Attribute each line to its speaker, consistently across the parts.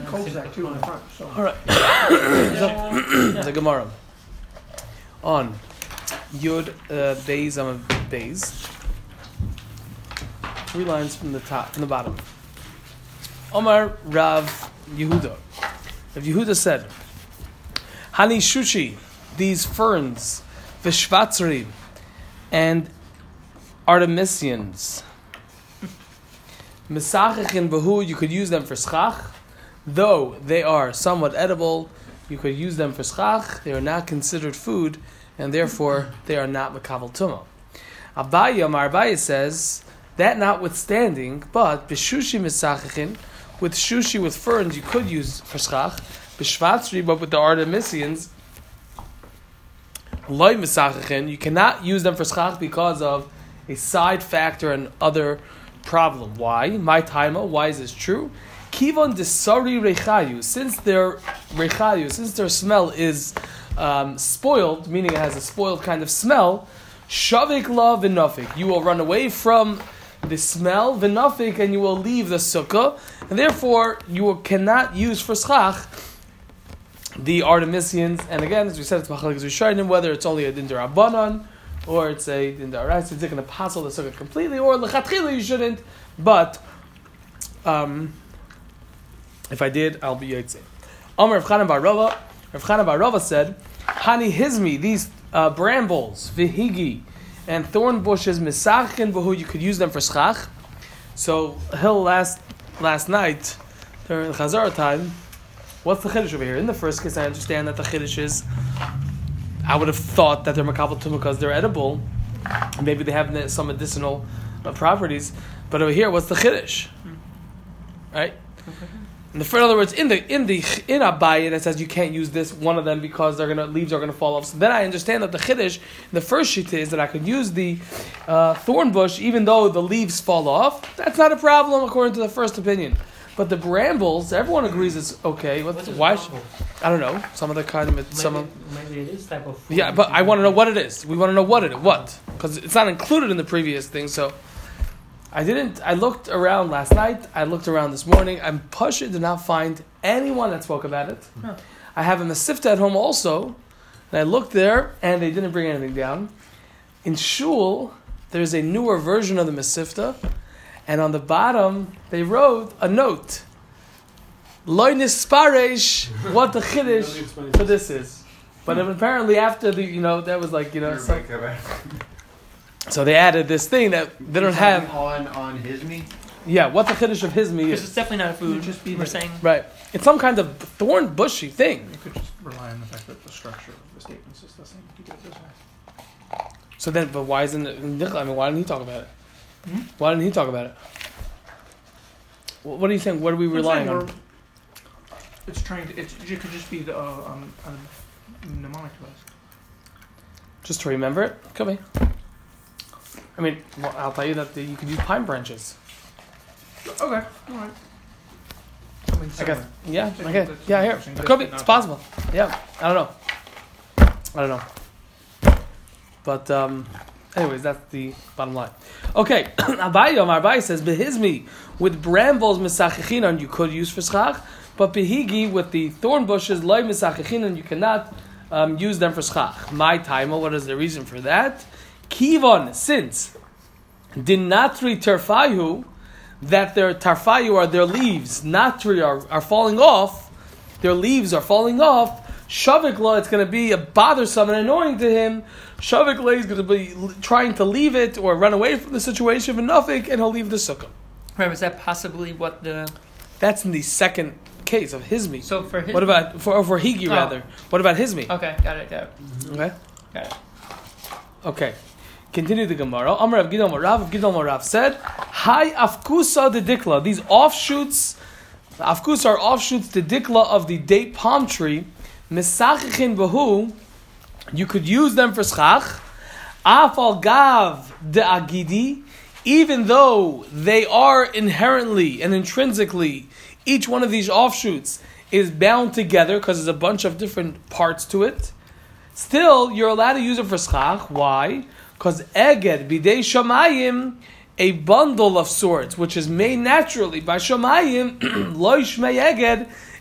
Speaker 1: cul-de-sac too in the front. So.
Speaker 2: All right. The Gemara on Yud Beis Amud Beis. 3 lines from the top, from the bottom. Omar Rav Yehuda. Rav Yehuda said, Hani Shushi, these ferns, Vishvatzri, and Artemisians. Mesachichin Bahu, you could use them for schach. Though they are somewhat edible, you could use them for schach. They are not considered food, and therefore they are not mekabel tumah. Abaye says, that notwithstanding, but b'shushi mesachichin, with shushi, with ferns, you could use for schach. B'shvatzri, but with the Artemisians, loy mesachichin, you cannot use them for schach because of a side factor and other problem. Why? My taima. Why is this true? Kivon desari rechayu. Since their rechayu, since their smell is spoiled, meaning it has a spoiled kind of smell, shavik la v'nafik. You will run away from the smell v'nafik, and you will leave the sukkah, and therefore you cannot use for schach the Artemisians. And again, as we said, it's machlekes rishonim whether it's only a din d'Rabbanan or it's a din d'Oraisa. It's going to passel the sukkah completely, or lechatchila you shouldn't. But if I did, I'll be yotzei. Amar Rav Chanan bar Rava. Rav Chanan bar Rava said, Hani hizmi, these brambles, vihigi, and thorn bushes, misachin v'hu, you could use them for schach. So Hill last night during the Chazara time, what's the chiddush over here? In the first case, I understand that the chiddush is, I would have thought that they're makabel tumah because they're edible. Maybe they have some medicinal properties. But over here, what's the chiddush? Right? In other words, in Abaye that says you can't use this one of them because leaves are gonna fall off. So then I understand that the chiddush, the first shita, is that I could use the thorn bush even though the leaves fall off. That's not a problem according to the first opinion. But the brambles, everyone agrees it's okay. Why? I don't know. Some other kind of
Speaker 3: maybe it is type of food.
Speaker 2: Yeah, but I want to know what it is. We want to know what because it's not included in the previous thing. So I looked around last night. I looked around this morning. I'm pushed did not find anyone that spoke about it.
Speaker 3: Huh.
Speaker 2: I have a Masifta at home also, and I looked there, and they didn't bring anything down. In Shul, there's a newer version of the Masifta, and on the bottom they wrote a note. Loy nisparesh, what the chiddush for this is. But apparently after that was so they added this thing that they don't have
Speaker 4: on Hizmi.
Speaker 2: Yeah, what the chiddush of Hizmi
Speaker 3: because
Speaker 2: is.
Speaker 3: it's definitely not a food. We're saying
Speaker 2: right. It's some kind of thorn bushy thing.
Speaker 1: You could just rely on the fact that the structure of the statements is the same. You do it this way.
Speaker 2: So then, but why isn't it? I mean, why didn't he talk about it? Why didn't he talk about it? What are you saying? What are we relying on?
Speaker 1: It's trying to. It could just be the mnemonic device.
Speaker 2: Just to remember it, could be. I mean, I'll tell you that you could use pine branches.
Speaker 1: Okay, all right.
Speaker 2: I guess. Yeah. Okay. Yeah. Here, it could be. It's possible. Yeah. I don't know. But anyways, that's the bottom line. Okay. Abaye says behizmi with brambles misachichinan you could use for schach, but behigi with the thorn bushes loy misachichinan you cannot use them for schach. My timer. What is the reason for that? Kivon, since dinatri terfayu, that their tarfayu are their leaves, natri are falling off, their leaves are falling off. Shavikla, it's going to be a bothersome and annoying to him. Shavikla is going to be trying to leave it or run away from the situation of nafik, and he'll leave the sukkah.
Speaker 3: Right, was that possibly what the?
Speaker 2: That's in the second case of Hizmi.
Speaker 3: So for Hizmi.
Speaker 2: What about for Higi rather? What about Hizmi?
Speaker 3: Okay, got it.
Speaker 2: Okay.
Speaker 3: Got it.
Speaker 2: Okay. Continue the Gemara. Amar Rav Gidon Rav said, "Hi afkusa de dikla." These offshoots, afkusa are offshoots the dikla of the date palm tree. Misachichin bahu, you could use them for schach. Afal gav de agidi, even though they are inherently and intrinsically, each one of these offshoots is bound together because there's a bunch of different parts to it. Still, you're allowed to use it for schach. Why? Because eged bidei shamayim, a bundle of sorts, which is made naturally by shamayim, lo yishmei eged,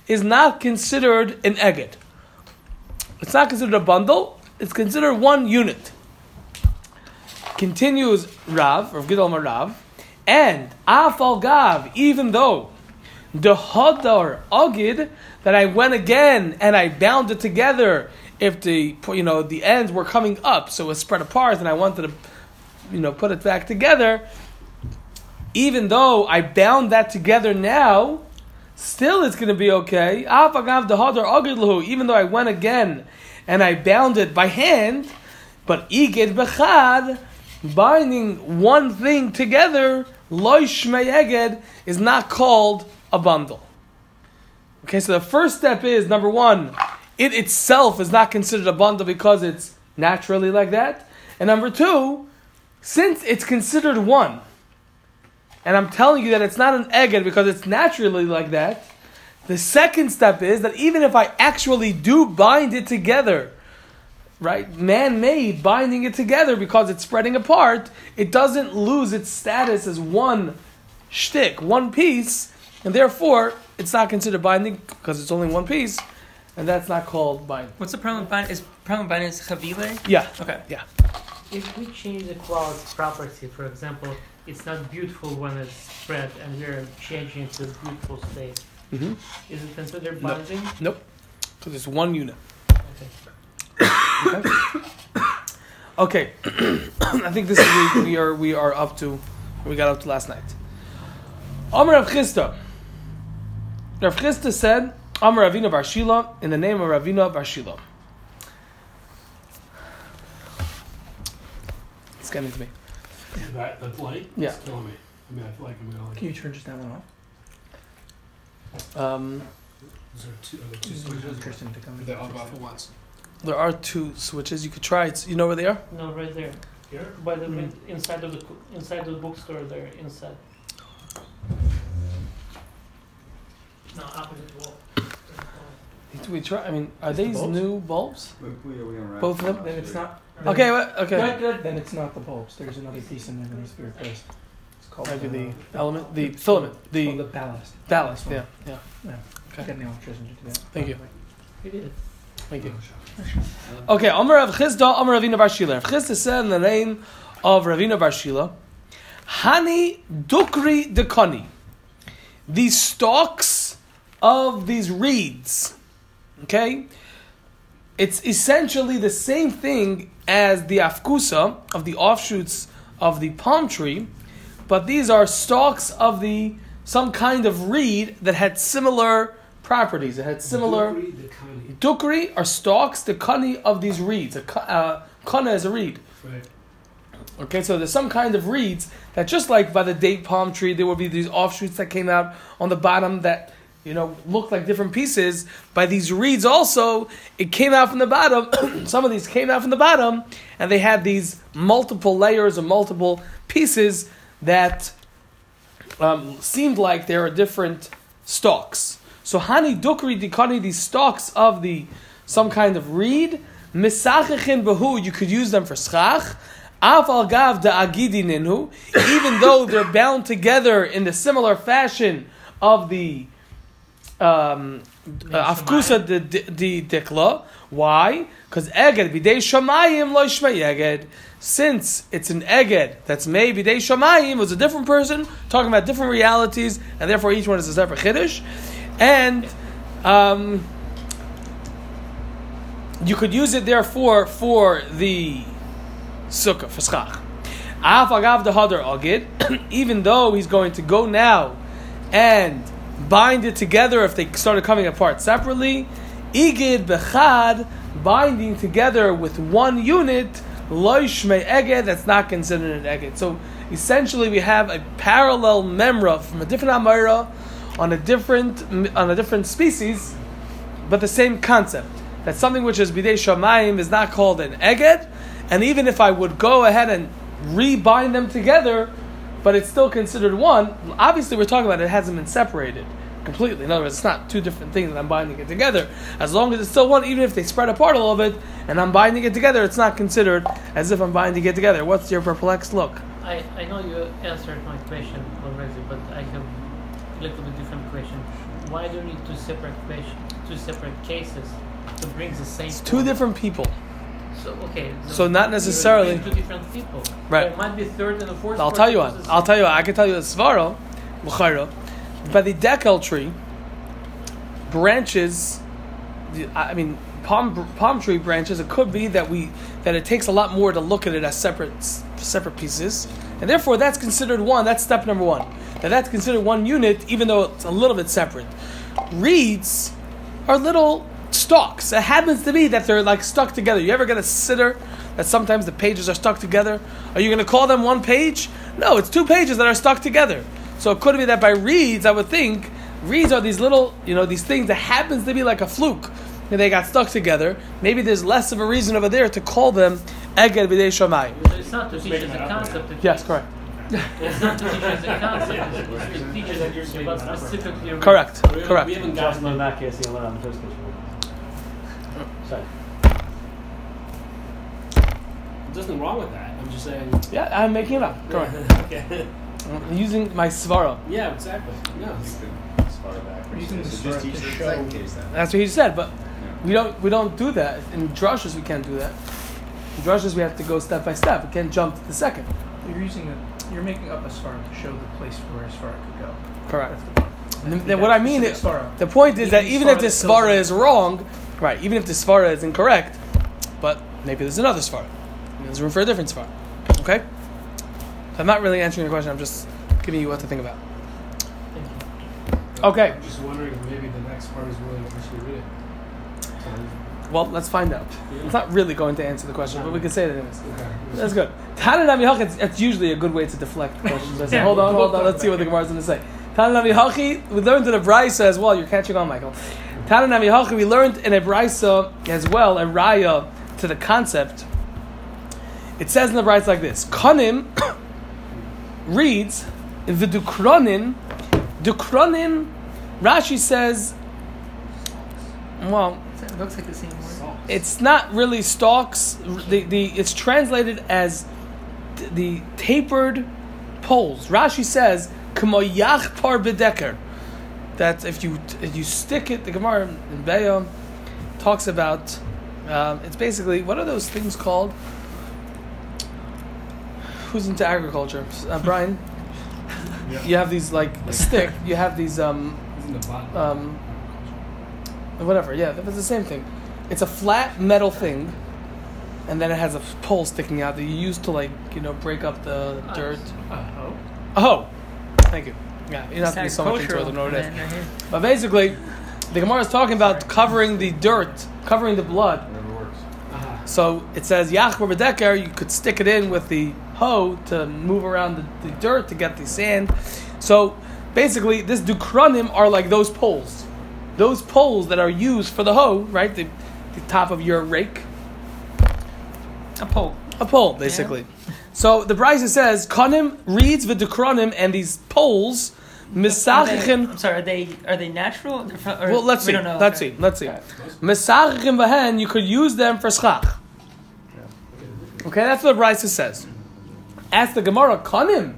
Speaker 2: is not considered an eged. It's not considered a bundle. It's considered one unit. Continues Rav Gidol Rav, and Afal Gav, even though the Hadar Agid, that I went again and I bound it together. If the ends were coming up, so it was spread apart, and I wanted to put it back together. Even though I bound that together now, still it's going to be okay. Even though I went again and I bound it by hand, but iged bechad, binding one thing together, loy shmei eged, is not called a bundle. Okay, so the first step is, number one, it itself is not considered a bundle because it's naturally like that. And number two, since it's considered one, and I'm telling you that it's not an eged because it's naturally like that, the second step is that even if I actually do bind it together, right, man-made, binding it together because it's spreading apart, it doesn't lose its status as one shtick, one piece, and therefore it's not considered binding because it's only one piece, and that's not called binding.
Speaker 3: What's the problem with binding? Is chavile?
Speaker 2: Yeah.
Speaker 3: Okay.
Speaker 2: Yeah.
Speaker 4: If we change the cloud's property, for example, it's not beautiful when it's spread, and we're changing it to a beautiful state.
Speaker 2: Mm-hmm.
Speaker 4: Is it considered binding?
Speaker 2: Nope. Because it's one unit.
Speaker 4: Okay.
Speaker 2: Okay. I think this is we are up to we got up to last night. Amar Rav Chisda. Rav Chisda said, Amar Ravina Bar Shila, in the name of Ravina Bar Shila. It's getting to me.
Speaker 5: That light
Speaker 2: Yeah.
Speaker 5: is killing me. I mean, I feel like I'm going
Speaker 1: Can you turn just that one off?
Speaker 5: Is there two
Speaker 1: Just
Speaker 5: switches?
Speaker 1: Tristan to come.
Speaker 5: Are they on off at once?
Speaker 2: There are two switches. You could try it. You know where they are?
Speaker 4: No, right there.
Speaker 5: Here?
Speaker 4: By the inside of the bookstore there, inside. No, opposite wall.
Speaker 2: Do we try? I mean, are these
Speaker 1: bulbs?
Speaker 2: new bulbs?
Speaker 6: Both
Speaker 2: Both of them?
Speaker 1: Then it's not.
Speaker 2: Okay. Okay.
Speaker 1: Good. Then it's not the bulbs. There's another piece in there that needs to be replaced. It's called
Speaker 2: Maybe the element, the filament,
Speaker 1: the
Speaker 2: the
Speaker 1: ballast.
Speaker 2: ballast.
Speaker 1: one.
Speaker 2: Yeah. Okay.
Speaker 1: Get the electrician to do that.
Speaker 2: Thank you.
Speaker 4: We did it.
Speaker 2: Thank you. Okay, Amar Rav Chisda, Amar Ravina Bar Shila. Rav Chisda said in the name of Ravina Bar Shila, Hani Dukri Dekani. These stalks of these reeds, okay? It's essentially the same thing as the afkusa, of the offshoots of the palm tree, but these are stalks of some kind of reed that had similar properties. It had similar... Dukri are stalks, the kani of these reeds. Kana is a reed.
Speaker 5: Right.
Speaker 2: Okay, so there's some kind of reeds that, just like by the date palm tree, there would be these offshoots that came out on the bottom that, looked like different pieces. By these reeds also, it came out from the bottom. Some of these came out from the bottom, and they had these multiple layers or multiple pieces that seemed like they were different stalks. So Hani Dukri Dikani, these stalks of some kind of reed, Misachichin Bahu, you could use them for schach. Afal Gav da Agidi Ninhu, even though they're bound together in the similar fashion of the Afkusa the Dikla. Why? Because Eged Bidei Shamayim Lo Shmei Eged. Since it's an Eged that's made Bidei Shamayim, was a different person talking about different realities, and therefore each one is a separate Chiddush. And you could use it therefore for the sukkah, for schach. Af agav the hadar agid, even though he's going to go now and bind it together if they started coming apart separately, igid bechad, binding together with one unit, lo shmei eged, that's not considered an eged. So essentially we have a parallel memra from a different amira, on a different species, but the same concept. That something which is bidei shamayim is not called an eged, and even if I would go ahead and rebind them together, but it's still considered one. Obviously, we're talking about it hasn't been separated completely. In other words, it's not two different things that I'm binding it together. As long as it's still one, even if they spread apart a little bit, and I'm binding it together, it's not considered as if I'm binding it together. What's your perplexed look?
Speaker 4: I know you answered my question already, but I have a little bit different question. why do you need two separate cases to bring the same?
Speaker 2: It's two different people.
Speaker 4: So okay.
Speaker 2: So not necessarily.
Speaker 4: Two different people.
Speaker 2: Right.
Speaker 4: There might be third and a fourth.
Speaker 2: I'll tell you what. I can tell you the svara, l'chayra, by the dekel tree, branches. I mean, palm tree branches. It could be that it takes a lot more to look at it as separate pieces, and therefore that's considered one. That's step number one. That's considered one unit, even though it's a little bit separate. Reeds are little stalks. It happens to be that they're like stuck together. You ever get a sitter that sometimes the pages are stuck together? Are you going to call them one page? No, it's two pages that are stuck together. So it could be that by reeds, I would think, reeds are these little, these things that happens to be like a fluke. And they got stuck together. Maybe there's less of a reason over there to call them Eged B'dei Shamayim.
Speaker 4: It's not to teach us the concept.
Speaker 2: Yes, correct.
Speaker 4: It's not to teach us the concept. It's to teach us about specifically.
Speaker 2: Correct.
Speaker 5: We haven't gotten
Speaker 6: in that case, you learn on the first case. Sorry.
Speaker 5: There's nothing wrong with that. I'm just saying.
Speaker 2: Yeah, I'm making it up. Correct.
Speaker 5: Okay.
Speaker 2: I'm using my svara.
Speaker 5: Yeah, exactly. No.
Speaker 1: Using the
Speaker 7: So
Speaker 1: svara
Speaker 7: just teach
Speaker 1: to
Speaker 7: the
Speaker 1: show.
Speaker 7: second case then.
Speaker 2: That's what he said, but we don't do that. In drushes we can't do that. In drushes we have to go step by step. We can't jump to the second.
Speaker 1: You're making up a svara to show the place where a svara could go.
Speaker 2: Correct.
Speaker 1: That's the point.
Speaker 2: And then what I mean is,
Speaker 1: Svara.
Speaker 2: the point is that even if
Speaker 1: Svara
Speaker 2: this
Speaker 1: that fills
Speaker 2: svara
Speaker 1: it.
Speaker 2: is wrong, right? Even if this svara is incorrect, but maybe there's another svara. There's room for a different svara. Okay. So I'm not really answering your question. I'm just giving you what to think about. Okay.
Speaker 5: I'm just wondering if maybe the next part is really actually read it. So,
Speaker 2: Well, let's find out.
Speaker 5: yeah.
Speaker 2: It's not really going to answer the question, but we can say it anyways.
Speaker 5: Okay.
Speaker 2: That's good. Tananami Hachi, it's usually a good way to deflect questions. I say, hold on, let's see what the Gemara is going to say. Tananami Hachi, we learned in a Brisa as well. You're catching on, Michael. Tananami Hachi, we learned in a Brisa as well, a Raya to the concept. It says in the Brisa like this: Kanim reads V'dukronin. Dukronin, Rashi says, well,
Speaker 3: It looks like the same word.
Speaker 2: it's not really stalks. It's translated as the tapered poles. Rashi says, "K'mo yachpar bedeker." That if you stick it, the Gemara in Be'ah talks about. It's basically, what are those things called? Who's into agriculture? Brian.
Speaker 1: Yeah.
Speaker 2: You have these like a stick. You have these
Speaker 5: Isn't the bottom?
Speaker 2: whatever. Yeah, that's the same thing. It's a flat metal thing, and then it has a pole sticking out that you use to break up the dirt. Oh, thank you. Yeah, you don't have to be so much into it to know what it is.
Speaker 3: Right here.
Speaker 2: But basically, the Gemara is talking about covering the dirt, covering the blood.
Speaker 7: Whatever works.
Speaker 2: So it says Yachbar B'deker. You could stick it in with the hoe to move around the dirt to get the sand. So basically, this dukronim are like those poles. Those poles that are used for the hoe, right? The top of your rake.
Speaker 3: A pole.
Speaker 2: A pole, basically. So the Brisa says, Kanim reads the dukronim and these poles, misachichin.
Speaker 3: I'm sorry. Are they natural?
Speaker 2: Well, let's see.
Speaker 3: We don't know.
Speaker 2: Let's see. Misachichin v'hen, you could use them for schach. Okay, that's what the Brisa says. Ask the Gemara, Kanim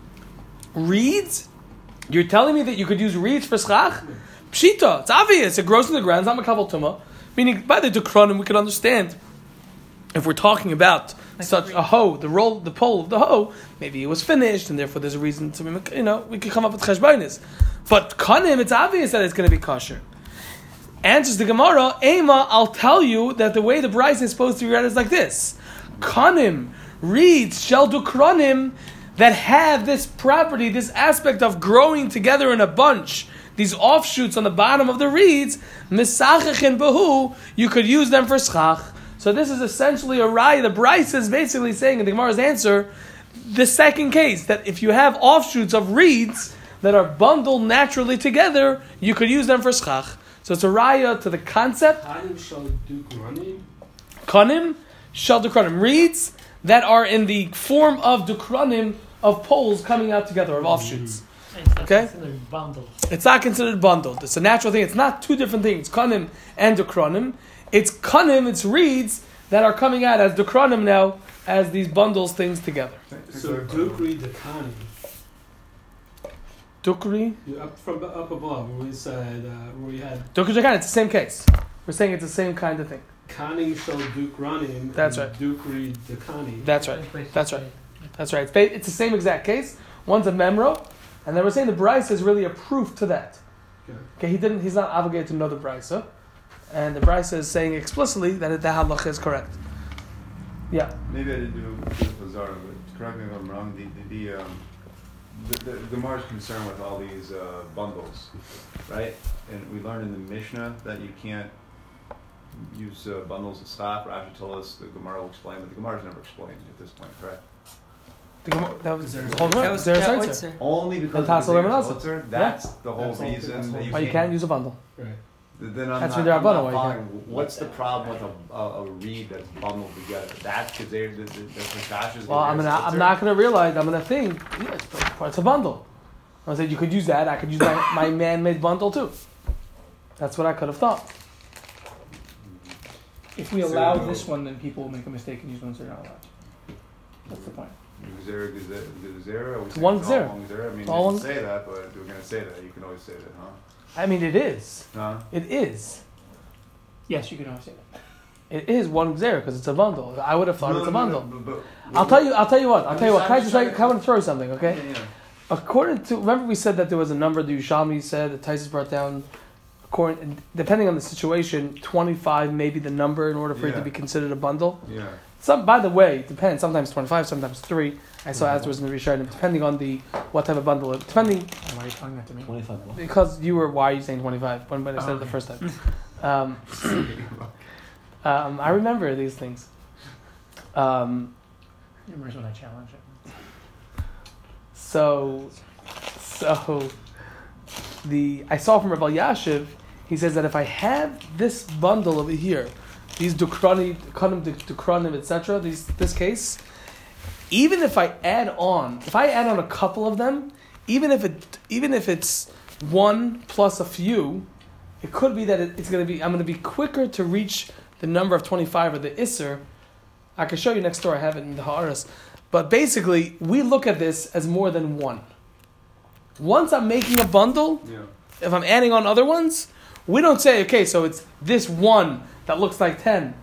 Speaker 2: reeds? You're telling me that you could use reeds for schach? Pshita, it's obvious. It grows in the ground. It's not makabel tuma. Meaning, by the dukronim, we can understand if we're talking about
Speaker 3: Like
Speaker 2: such a hoe, the pole of the hoe, maybe it was finished, and therefore there's a reason to, we could come up with cheshbonis. But kanim, it's obvious that it's going to be kosher. Answers the Gemara, Ema, I'll tell you that the way the Brisa is supposed to be read is like this: Kanim reeds shel dukronim that have this property, this aspect of growing together in a bunch. These offshoots on the bottom of the reeds, misachachin bahu, you could use them for schach. So this is essentially a raya. The Brisa is basically saying in the Gemara's answer, the second case, that if you have offshoots of reeds that are bundled naturally together, you could use them for schach. So it's a raya to the concept.
Speaker 5: Kanim shall do running.
Speaker 2: Kanim shall dukronim, reeds that are in the form of dukronim, of poles coming out together, of offshoots.
Speaker 4: It's not
Speaker 2: Okay.
Speaker 4: considered bundle.
Speaker 2: It's not considered bundled. It's a natural thing. It's not two different things, kanim and dukronim. It's kanim, it's reeds that are coming out as dukronim now, as these bundles things together.
Speaker 5: So Duke read the Kanim.
Speaker 2: Dukri.
Speaker 5: Up above, where we said, where we had
Speaker 2: Dukri Jakan, it's the same case. We're saying it's the same kind of thing.
Speaker 5: Kani Shel Dukranim.
Speaker 2: That's
Speaker 5: and
Speaker 2: right.
Speaker 5: Dukri Dekani.
Speaker 2: That's right. That's right. That's right. It's the same exact case. One's a memro, and then we're saying the brisa is really a proof to that. Okay, he's not obligated to know the brisa, and the brisa is saying explicitly that the halacha is correct. Yeah.
Speaker 7: Maybe I didn't do the Zara, but correct me if I'm wrong. The Gemara's concerned with all these bundles, right? And we learned in the Mishnah that you can't use bundles of stock. Rashi told us the Gemara will explain, but the Gemara's never explained at this point, correct?
Speaker 2: That was
Speaker 3: That was there.
Speaker 7: Only because
Speaker 2: And
Speaker 7: of the
Speaker 2: Tassil
Speaker 7: Zeres
Speaker 2: Lemonazah.
Speaker 7: Otzer? That's the whole
Speaker 5: That's all-
Speaker 7: reason
Speaker 5: that's
Speaker 7: that
Speaker 2: Why you can't use a bundle.
Speaker 5: Right.
Speaker 7: Then I'm
Speaker 2: That's
Speaker 7: not,
Speaker 2: what they're
Speaker 7: I'm not
Speaker 2: bundle, why you
Speaker 7: following. What's the problem with a reed that's bundled together? That's because the Kashash is
Speaker 2: Well, I'm not gonna realize. I'm gonna think. Yeah, it's a bundle. I said you could use that. I could use my man-made bundle too. That's what I could have thought.
Speaker 1: If we allow this one, then people will make a mistake and use ones they're not allowed. That's the point.
Speaker 2: It's one Gzera.
Speaker 7: I mean,
Speaker 2: It's
Speaker 7: you
Speaker 2: all
Speaker 7: can
Speaker 2: one-
Speaker 7: say that, but we're going to say that. You can always say that, huh?
Speaker 2: I mean, it is.
Speaker 7: Huh?
Speaker 2: It is.
Speaker 1: Yes, you can always say that.
Speaker 2: It is one Gzera because it's a bundle. I would have thought it's a bundle.
Speaker 7: But
Speaker 2: I'll tell you what. Can I just
Speaker 7: trying to-
Speaker 2: I want to throw you something, okay?
Speaker 7: Yeah.
Speaker 2: According to, remember we said that there was a number the Yerushalmi said that Tysus brought down. Depending on the situation, 25 may be the number in order for it to
Speaker 7: Yeah.
Speaker 2: be considered a bundle.
Speaker 7: Yeah.
Speaker 2: By the way, it depends. Sometimes 25, sometimes 3. I saw afterwards in the Rishonim, depending on what type of bundle. Depending,
Speaker 1: Why are you telling that to me?
Speaker 6: 25 what?
Speaker 2: because why are you saying 25 when I said it the first time? I remember these things.
Speaker 1: Remember when I challenge it?
Speaker 2: So I saw from Rav Yashiv, he says that if I have this bundle over here, these dukranim, etc., this case, even if I add on a couple of them, even if it's one plus a few, it could be that I'm going to be quicker to reach the number of 25 or the Isser. I can show you next door. I have it in the Ha'aras. But basically, we look at this as more than one. Once I'm making a bundle, if I'm adding on other ones, we don't say, okay, so it's this one that looks like 10.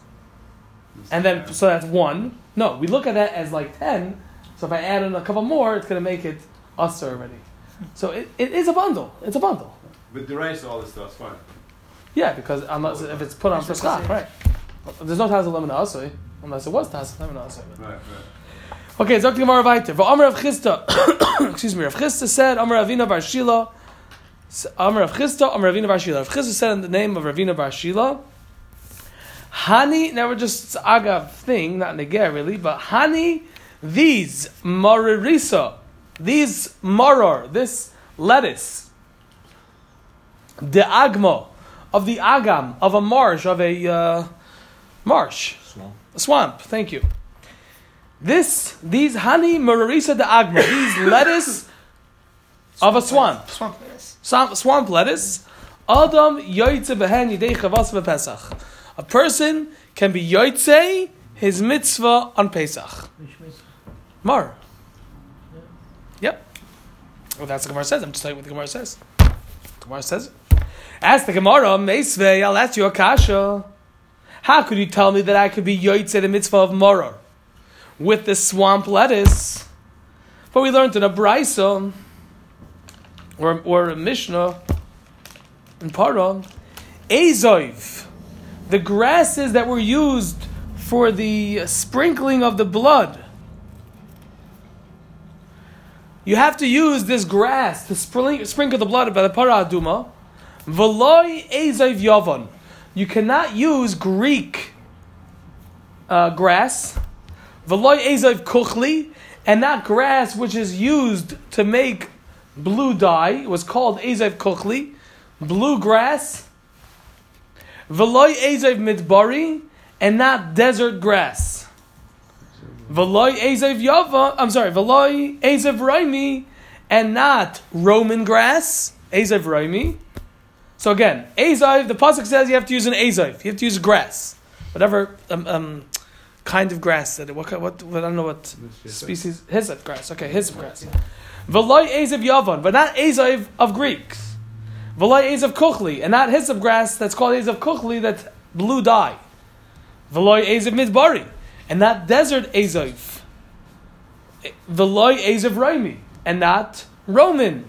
Speaker 2: And then, so that's 1. No, we look at that as like 10. So if I add in a couple more, it's going to make it us already. So it is a bundle. It's a bundle.
Speaker 7: But the rice, all this stuff's fine.
Speaker 2: Yeah, because if it's put on for schach, right? There's no Taz Lemon Asui, unless it was Taz Lemon Asui.
Speaker 7: Right.
Speaker 2: Okay, Zok Gemara weiter. V'Amar Rav Chisda, excuse me, Rav Chisda said, Amar Ravina Bar Shila, Amar Rav Chisda, Amar Ravina Bar Shila. Rav Chisda said in the name of Ravina Bar Shila, Hani, now we're just agav thing, not neger really, but Hani, these maririsa, these maror, this lettuce, the agmo, of the agam, of a marsh, of a marsh, a swamp, thank you. These honey mararisa de agma, these lettuce of a swamp.
Speaker 3: Swamp lettuce.
Speaker 2: Swamp lettuce. Adam yoytze behen yidei chavas v'Pesach. A person can be yoytze his mitzvah on Pesach. Mar. Yep. Well, that's what the Gemara says. I'm just telling you what the Gemara says. The Gemara says it. Ask the Gemara, Meisvei, I'll ask you a kasha. How could you tell me that I could be yoytze the mitzvah of Maror with the swamp lettuce? But we learned in a Brisa or a Mishnah in Parah, Ezoiv, the grasses that were used for the sprinkling of the blood. You have to use this grass to sprinkle the blood by the Parah Aduma. V'loi Ezoiv Yavon. You cannot use Greek grass. V'loi Ezoiv Kuchli, and not grass which is used to make blue dye. It was called Ezoiv Kuchli, blue grass. V'loi Ezoiv Midbari, and not desert grass. V'loi Ezoiv Yava, V'loi Ezoiv Raimi, and not Roman grass. Ezoiv Raimi. So again, Ezoiv, the pasuk says you have to use an Ezoiv. You have to use grass, whatever kind of grass. What I don't know what species. Hyssop grass. Okay, hyssop grass. V'loy Ezav Yavan, but not Ezav of Greeks. V'loy Ezav Kuchli, and not hyssop grass that's called Ezav Kuchli, that's blue dye. V'loy Ezav Midbari, and not desert Ezav. V'loy Ezav Raimi, and not Roman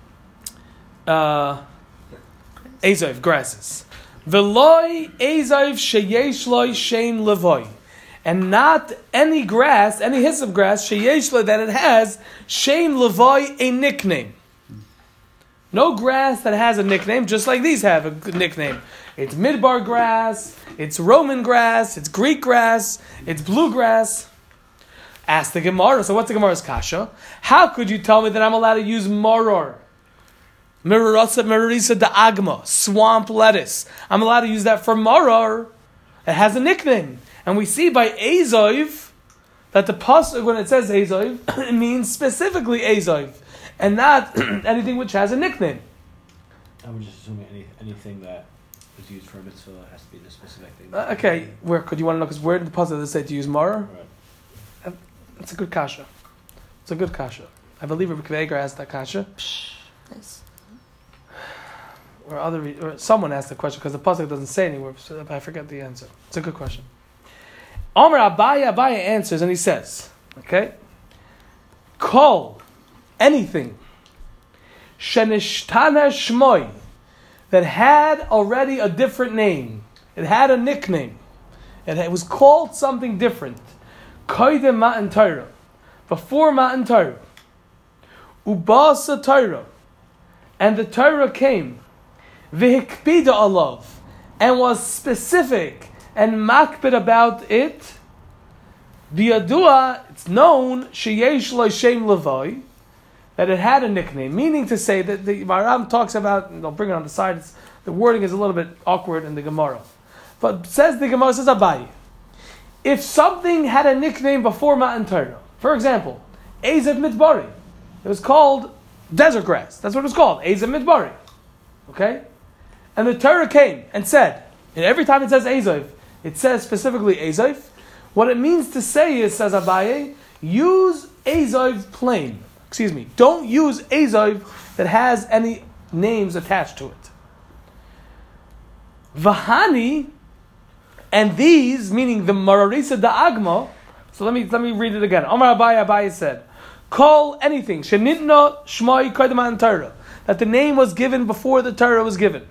Speaker 2: Ezav grasses. V'loy Ezav Sheyesh Loy Shem Levoy, and not any grass, any hyssop grass, Sheyesh Loy, that it has Shem Levoy, a nickname. No grass that has a nickname, just like these have a good nickname. It's Midbar grass, it's Roman grass, it's Greek grass, it's blue grass. Ask the Gemara. So what's the Gemara's kasha? How could you tell me that I'm allowed to use maror? Marorisa da'agma, swamp lettuce. I'm allowed to use that for maror. It has a nickname. And we see by Ezav that the pasuk, when it says Ezav, it means specifically Ezav, and not anything which has a nickname.
Speaker 6: I would just assume anything that is used for a mitzvah has to be the specific thing.
Speaker 2: Okay, where could you want to know? Because where did the pasuk say to use maror?
Speaker 6: Right.
Speaker 2: It's a good kasha. It's a good kasha. I believe Rebbe Kveger asked that kasha.
Speaker 3: Nice.
Speaker 2: Or someone asked the question because the pasuk doesn't say anywhere. So I forget the answer. It's a good question. Omer Abaya answers and he says, okay, call anything shenishtana shmoy, that had already a different name. It had a nickname. It was called something different. Koydem Matan Torah, before Matan Torah. Ubasa Torah, and the Torah came. V'hikpida alav, and was specific and makbid about it. Biyadua, it's known, sheyesh lo shem levoi, that it had a nickname. Meaning to say that the Maram talks about, and I'll bring it on the side, the wording is a little bit awkward in the Gemara. But says the Gemara, says Abaye, if something had a nickname before Matan Torah, for example, Ezav Midbari, it was called desert grass. That's what it was called, Ezav Midbari. Okay? And the Torah came and said, and every time it says Ezav, it says specifically Ezav. What it means to say is, says Abaye, use Ezav plain. Don't use Ezav that has any names attached to it. Vahani, and these, meaning the Mararisa Da'agma, so let me read it again. Omar Abaye said, call anything, Shenitna Shmai Kodeman Torah, that the name was given before the Torah was given.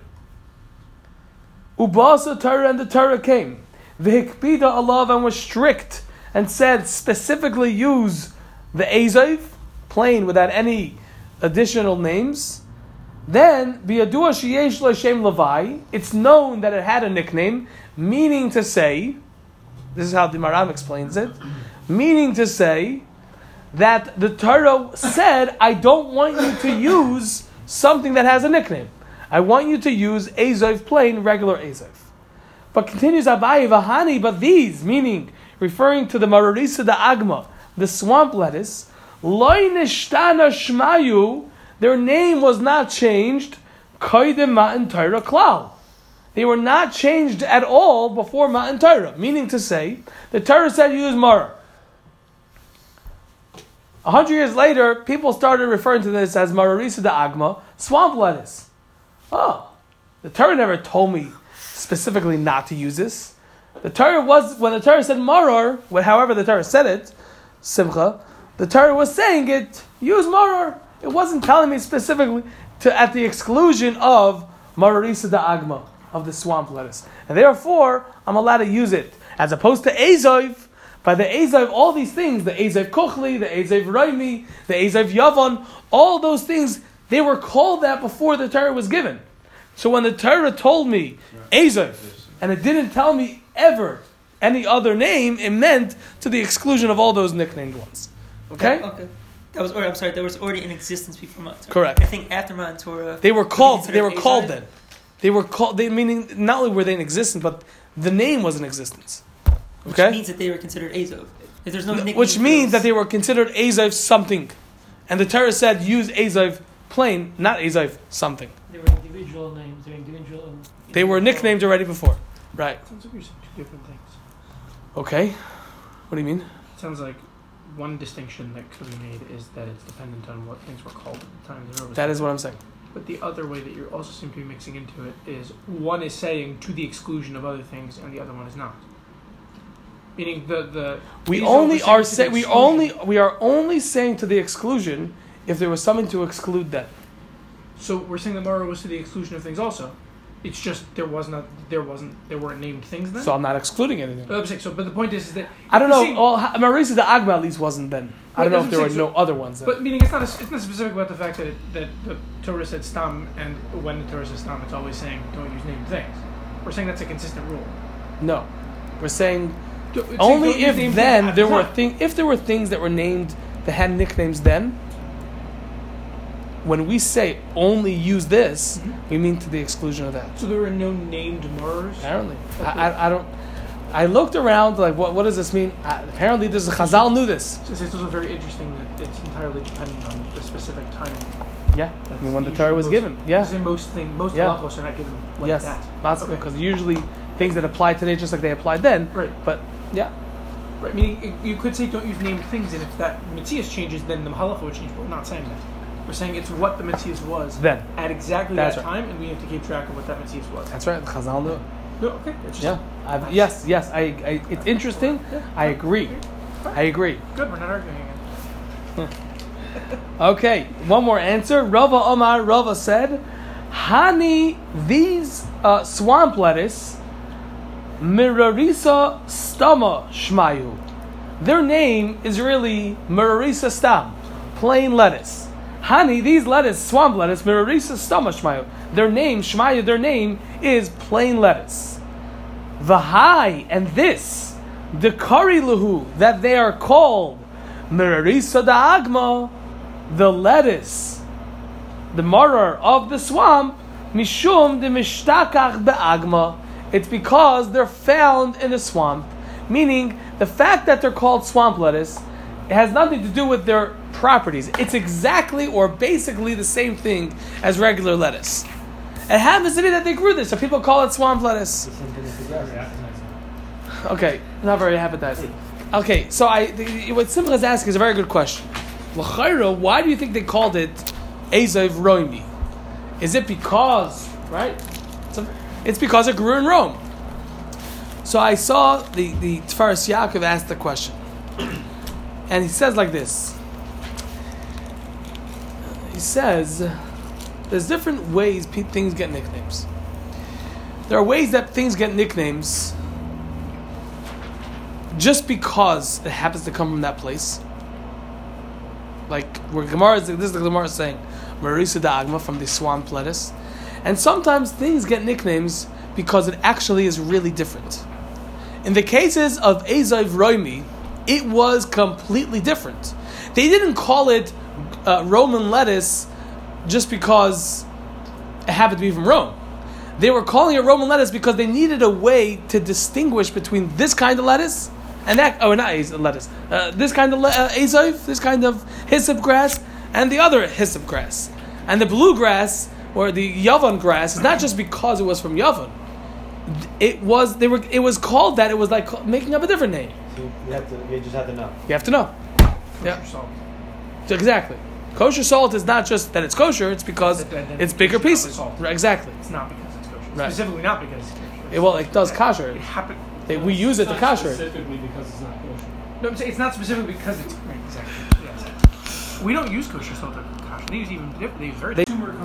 Speaker 2: Ubasa Torah, and the Torah came. V'hikpida alav, and was strict, and said specifically use the Ezav, plain without any additional names. Then, biyadua sheyesh lo shem levai, it's known that it had a nickname, meaning to say, this is how the Maram explains it, meaning to say that the Torah said, I don't want you to use something that has a nickname. I want you to use Ezav plain, regular Ezav. But continues Abaye Vahani, but these, meaning referring to the Mararisa Da'agma, the swamp lettuce, Loi Nishtana Shmayu, their name was not changed, Koydem Matan Torah Klal. They were not changed at all before Matan Torah. Meaning to say, the Torah said use maror. 100 years later, people started referring to this as Mararisa Da'agma, swamp lettuce. Oh, the Torah never told me specifically not to use this. The Torah was, when the Torah said maror, however the Torah said it, Simcha, the Torah was saying it, use maror. It wasn't telling me specifically to at the exclusion of Mararisa Da'agma, of the swamp lettuce. And therefore, I'm allowed to use it. As opposed to Ezav, by the Ezav, all these things, the Ezav Kuchli, the Ezav Raimi, the Ezav Yavan, all those things, they were called that before the Torah was given. So when the Torah told me Ezav, and it didn't tell me ever any other name, it meant to the exclusion of all those nicknamed ones. Okay?
Speaker 3: Okay. That was already in existence before Matan Torah.
Speaker 2: Correct.
Speaker 3: I think after Matan Torah,
Speaker 2: They were called
Speaker 3: Ezav?
Speaker 2: then. They were called, meaning not only were they in existence, but the name was in existence. Okay?
Speaker 3: Which means that they were considered Ezav. If there's no nickname
Speaker 2: Which
Speaker 3: for
Speaker 2: means
Speaker 3: those.
Speaker 2: that they were considered Ezav something. And the Torah said use Ezav plain, not Ezav something.
Speaker 4: They were individual names.
Speaker 2: They were nicknamed already before. Right.
Speaker 1: Sounds like you're saying two different things.
Speaker 2: Okay. What do you mean?
Speaker 1: Sounds like one distinction that could be made is that it's dependent on what things were called at the time the
Speaker 2: That is what I'm saying.
Speaker 1: But the other way that you also seem to be mixing into it is one is saying to the exclusion of other things, and the other one is not. Meaning
Speaker 2: We
Speaker 1: these
Speaker 2: only
Speaker 1: are
Speaker 2: are
Speaker 1: saying to the
Speaker 2: we are only saying to the exclusion if there was something to exclude that.
Speaker 1: So we're saying that Mara was to the exclusion of things also. It's just there weren't named things then.
Speaker 2: So I'm not excluding anything.
Speaker 1: But I'm saying, but the point is that
Speaker 2: I don't
Speaker 1: the
Speaker 2: know.
Speaker 1: same-
Speaker 2: Marisa the Agma at least wasn't then. I don't know if there were no other ones then.
Speaker 1: But meaning it's not specific about the fact that the Torah said stam, and when the Torah says stam, it's always saying don't use named things. We're saying that's a consistent rule.
Speaker 2: No, we're saying
Speaker 1: It's saying
Speaker 2: only
Speaker 1: don't use
Speaker 2: if
Speaker 1: named
Speaker 2: then
Speaker 1: things
Speaker 2: there
Speaker 1: at
Speaker 2: were
Speaker 1: the time.
Speaker 2: if there were things that were named that had nicknames then. When we say only use this, we mean to the exclusion of that.
Speaker 1: So there were no named Mars.
Speaker 2: Apparently,
Speaker 1: Okay.
Speaker 2: I don't. I looked around like what does this mean? Apparently, this is Chazal knew this.
Speaker 1: So it's also very interesting that it's entirely dependent on the specific time.
Speaker 2: Yeah, I mean when the
Speaker 1: Usually
Speaker 2: Torah was
Speaker 1: most-
Speaker 2: given. Yeah,
Speaker 1: Because in most
Speaker 2: Yeah.
Speaker 1: halachos are not given like
Speaker 2: yes,
Speaker 1: that.
Speaker 2: okay. Because usually things that apply today just like they applied then.
Speaker 1: Right.
Speaker 2: But yeah,
Speaker 1: Right. Meaning you could say don't use named things, and if that Matthias changes, then the halacha would change. But we're not saying that. We're saying it's what the Matthias was
Speaker 2: then
Speaker 1: at exactly
Speaker 2: That's
Speaker 1: that
Speaker 2: right.
Speaker 1: time, and we have to keep track of what that Matthias was.
Speaker 2: that's right. Chazal knew.
Speaker 1: No, okay. It's just,
Speaker 2: Yeah. Yes. I it's interesting.
Speaker 1: Yeah.
Speaker 2: I agree. I agree.
Speaker 1: Good. We're not arguing again.
Speaker 2: Okay, one more answer. Rava Omar, Rava said, Hani, these swamp lettuce, Mirarisa Stama Shmayu. Their name is really Mirarisa Stam, plain lettuce. Hani, these lettuce, swamp lettuce, Mirarisa Stama Shmayu. Their name, Shmayu, their name is plain lettuce. Vahai, and this, the Kari Luhu, that they are called Mirarisa Da'agma, the lettuce, the marar of the swamp, mishum de mishtakach be'agma. It's because they're found in the swamp. Meaning, the fact that they're called swamp lettuce, it has nothing to do with their properties. It's exactly or basically the same thing as regular lettuce. It happens to be that they grew this, so people call it swamp lettuce. Okay, not very appetizing. Okay, so what Simcha is asking is a very good question. L'chayra, why do you think they called it Ezav Roimi? Is it because, right? It's because it grew in Rome. So I saw the Tfaris Yaakov asked the question. And he says like this. He says, there's different ways things get nicknames. There are ways that things get nicknames just because it happens to come from that place. Like where Gemara this is the Gemara saying, Marisa Da'agma from the swamp lettuce. And sometimes things get nicknames because it actually is really different. In the cases of Ezav Roimi, it was completely different. They didn't call it Roman lettuce just because it happened to be from Rome. They were calling it Roman lettuce because they needed a way to distinguish between this kind of lettuce and that, lettuce. This kind of Ezav, this kind of hyssop grass, and the other hyssop grass. And the bluegrass, or the Yavan grass, is not just because it was from Yavan. It was called that. It was like making up a different name.
Speaker 6: So you just have to know.
Speaker 2: You have to know. Yeah.
Speaker 1: Kosher salt.
Speaker 2: Exactly. Kosher salt is not just that it's kosher, it's because it's bigger pieces.
Speaker 1: Salt.
Speaker 2: Right, exactly.
Speaker 1: It's not because it's kosher.
Speaker 2: Right.
Speaker 1: Specifically not because it's kosher.
Speaker 2: Well, it does kosher.
Speaker 1: It happened.
Speaker 2: We use it to kosher.
Speaker 5: Specifically because it's not kosher.
Speaker 1: No, I'm saying it's not specifically because it's right, exactly. Yes. We don't use kosher salt at kosher. They use even different. They use very.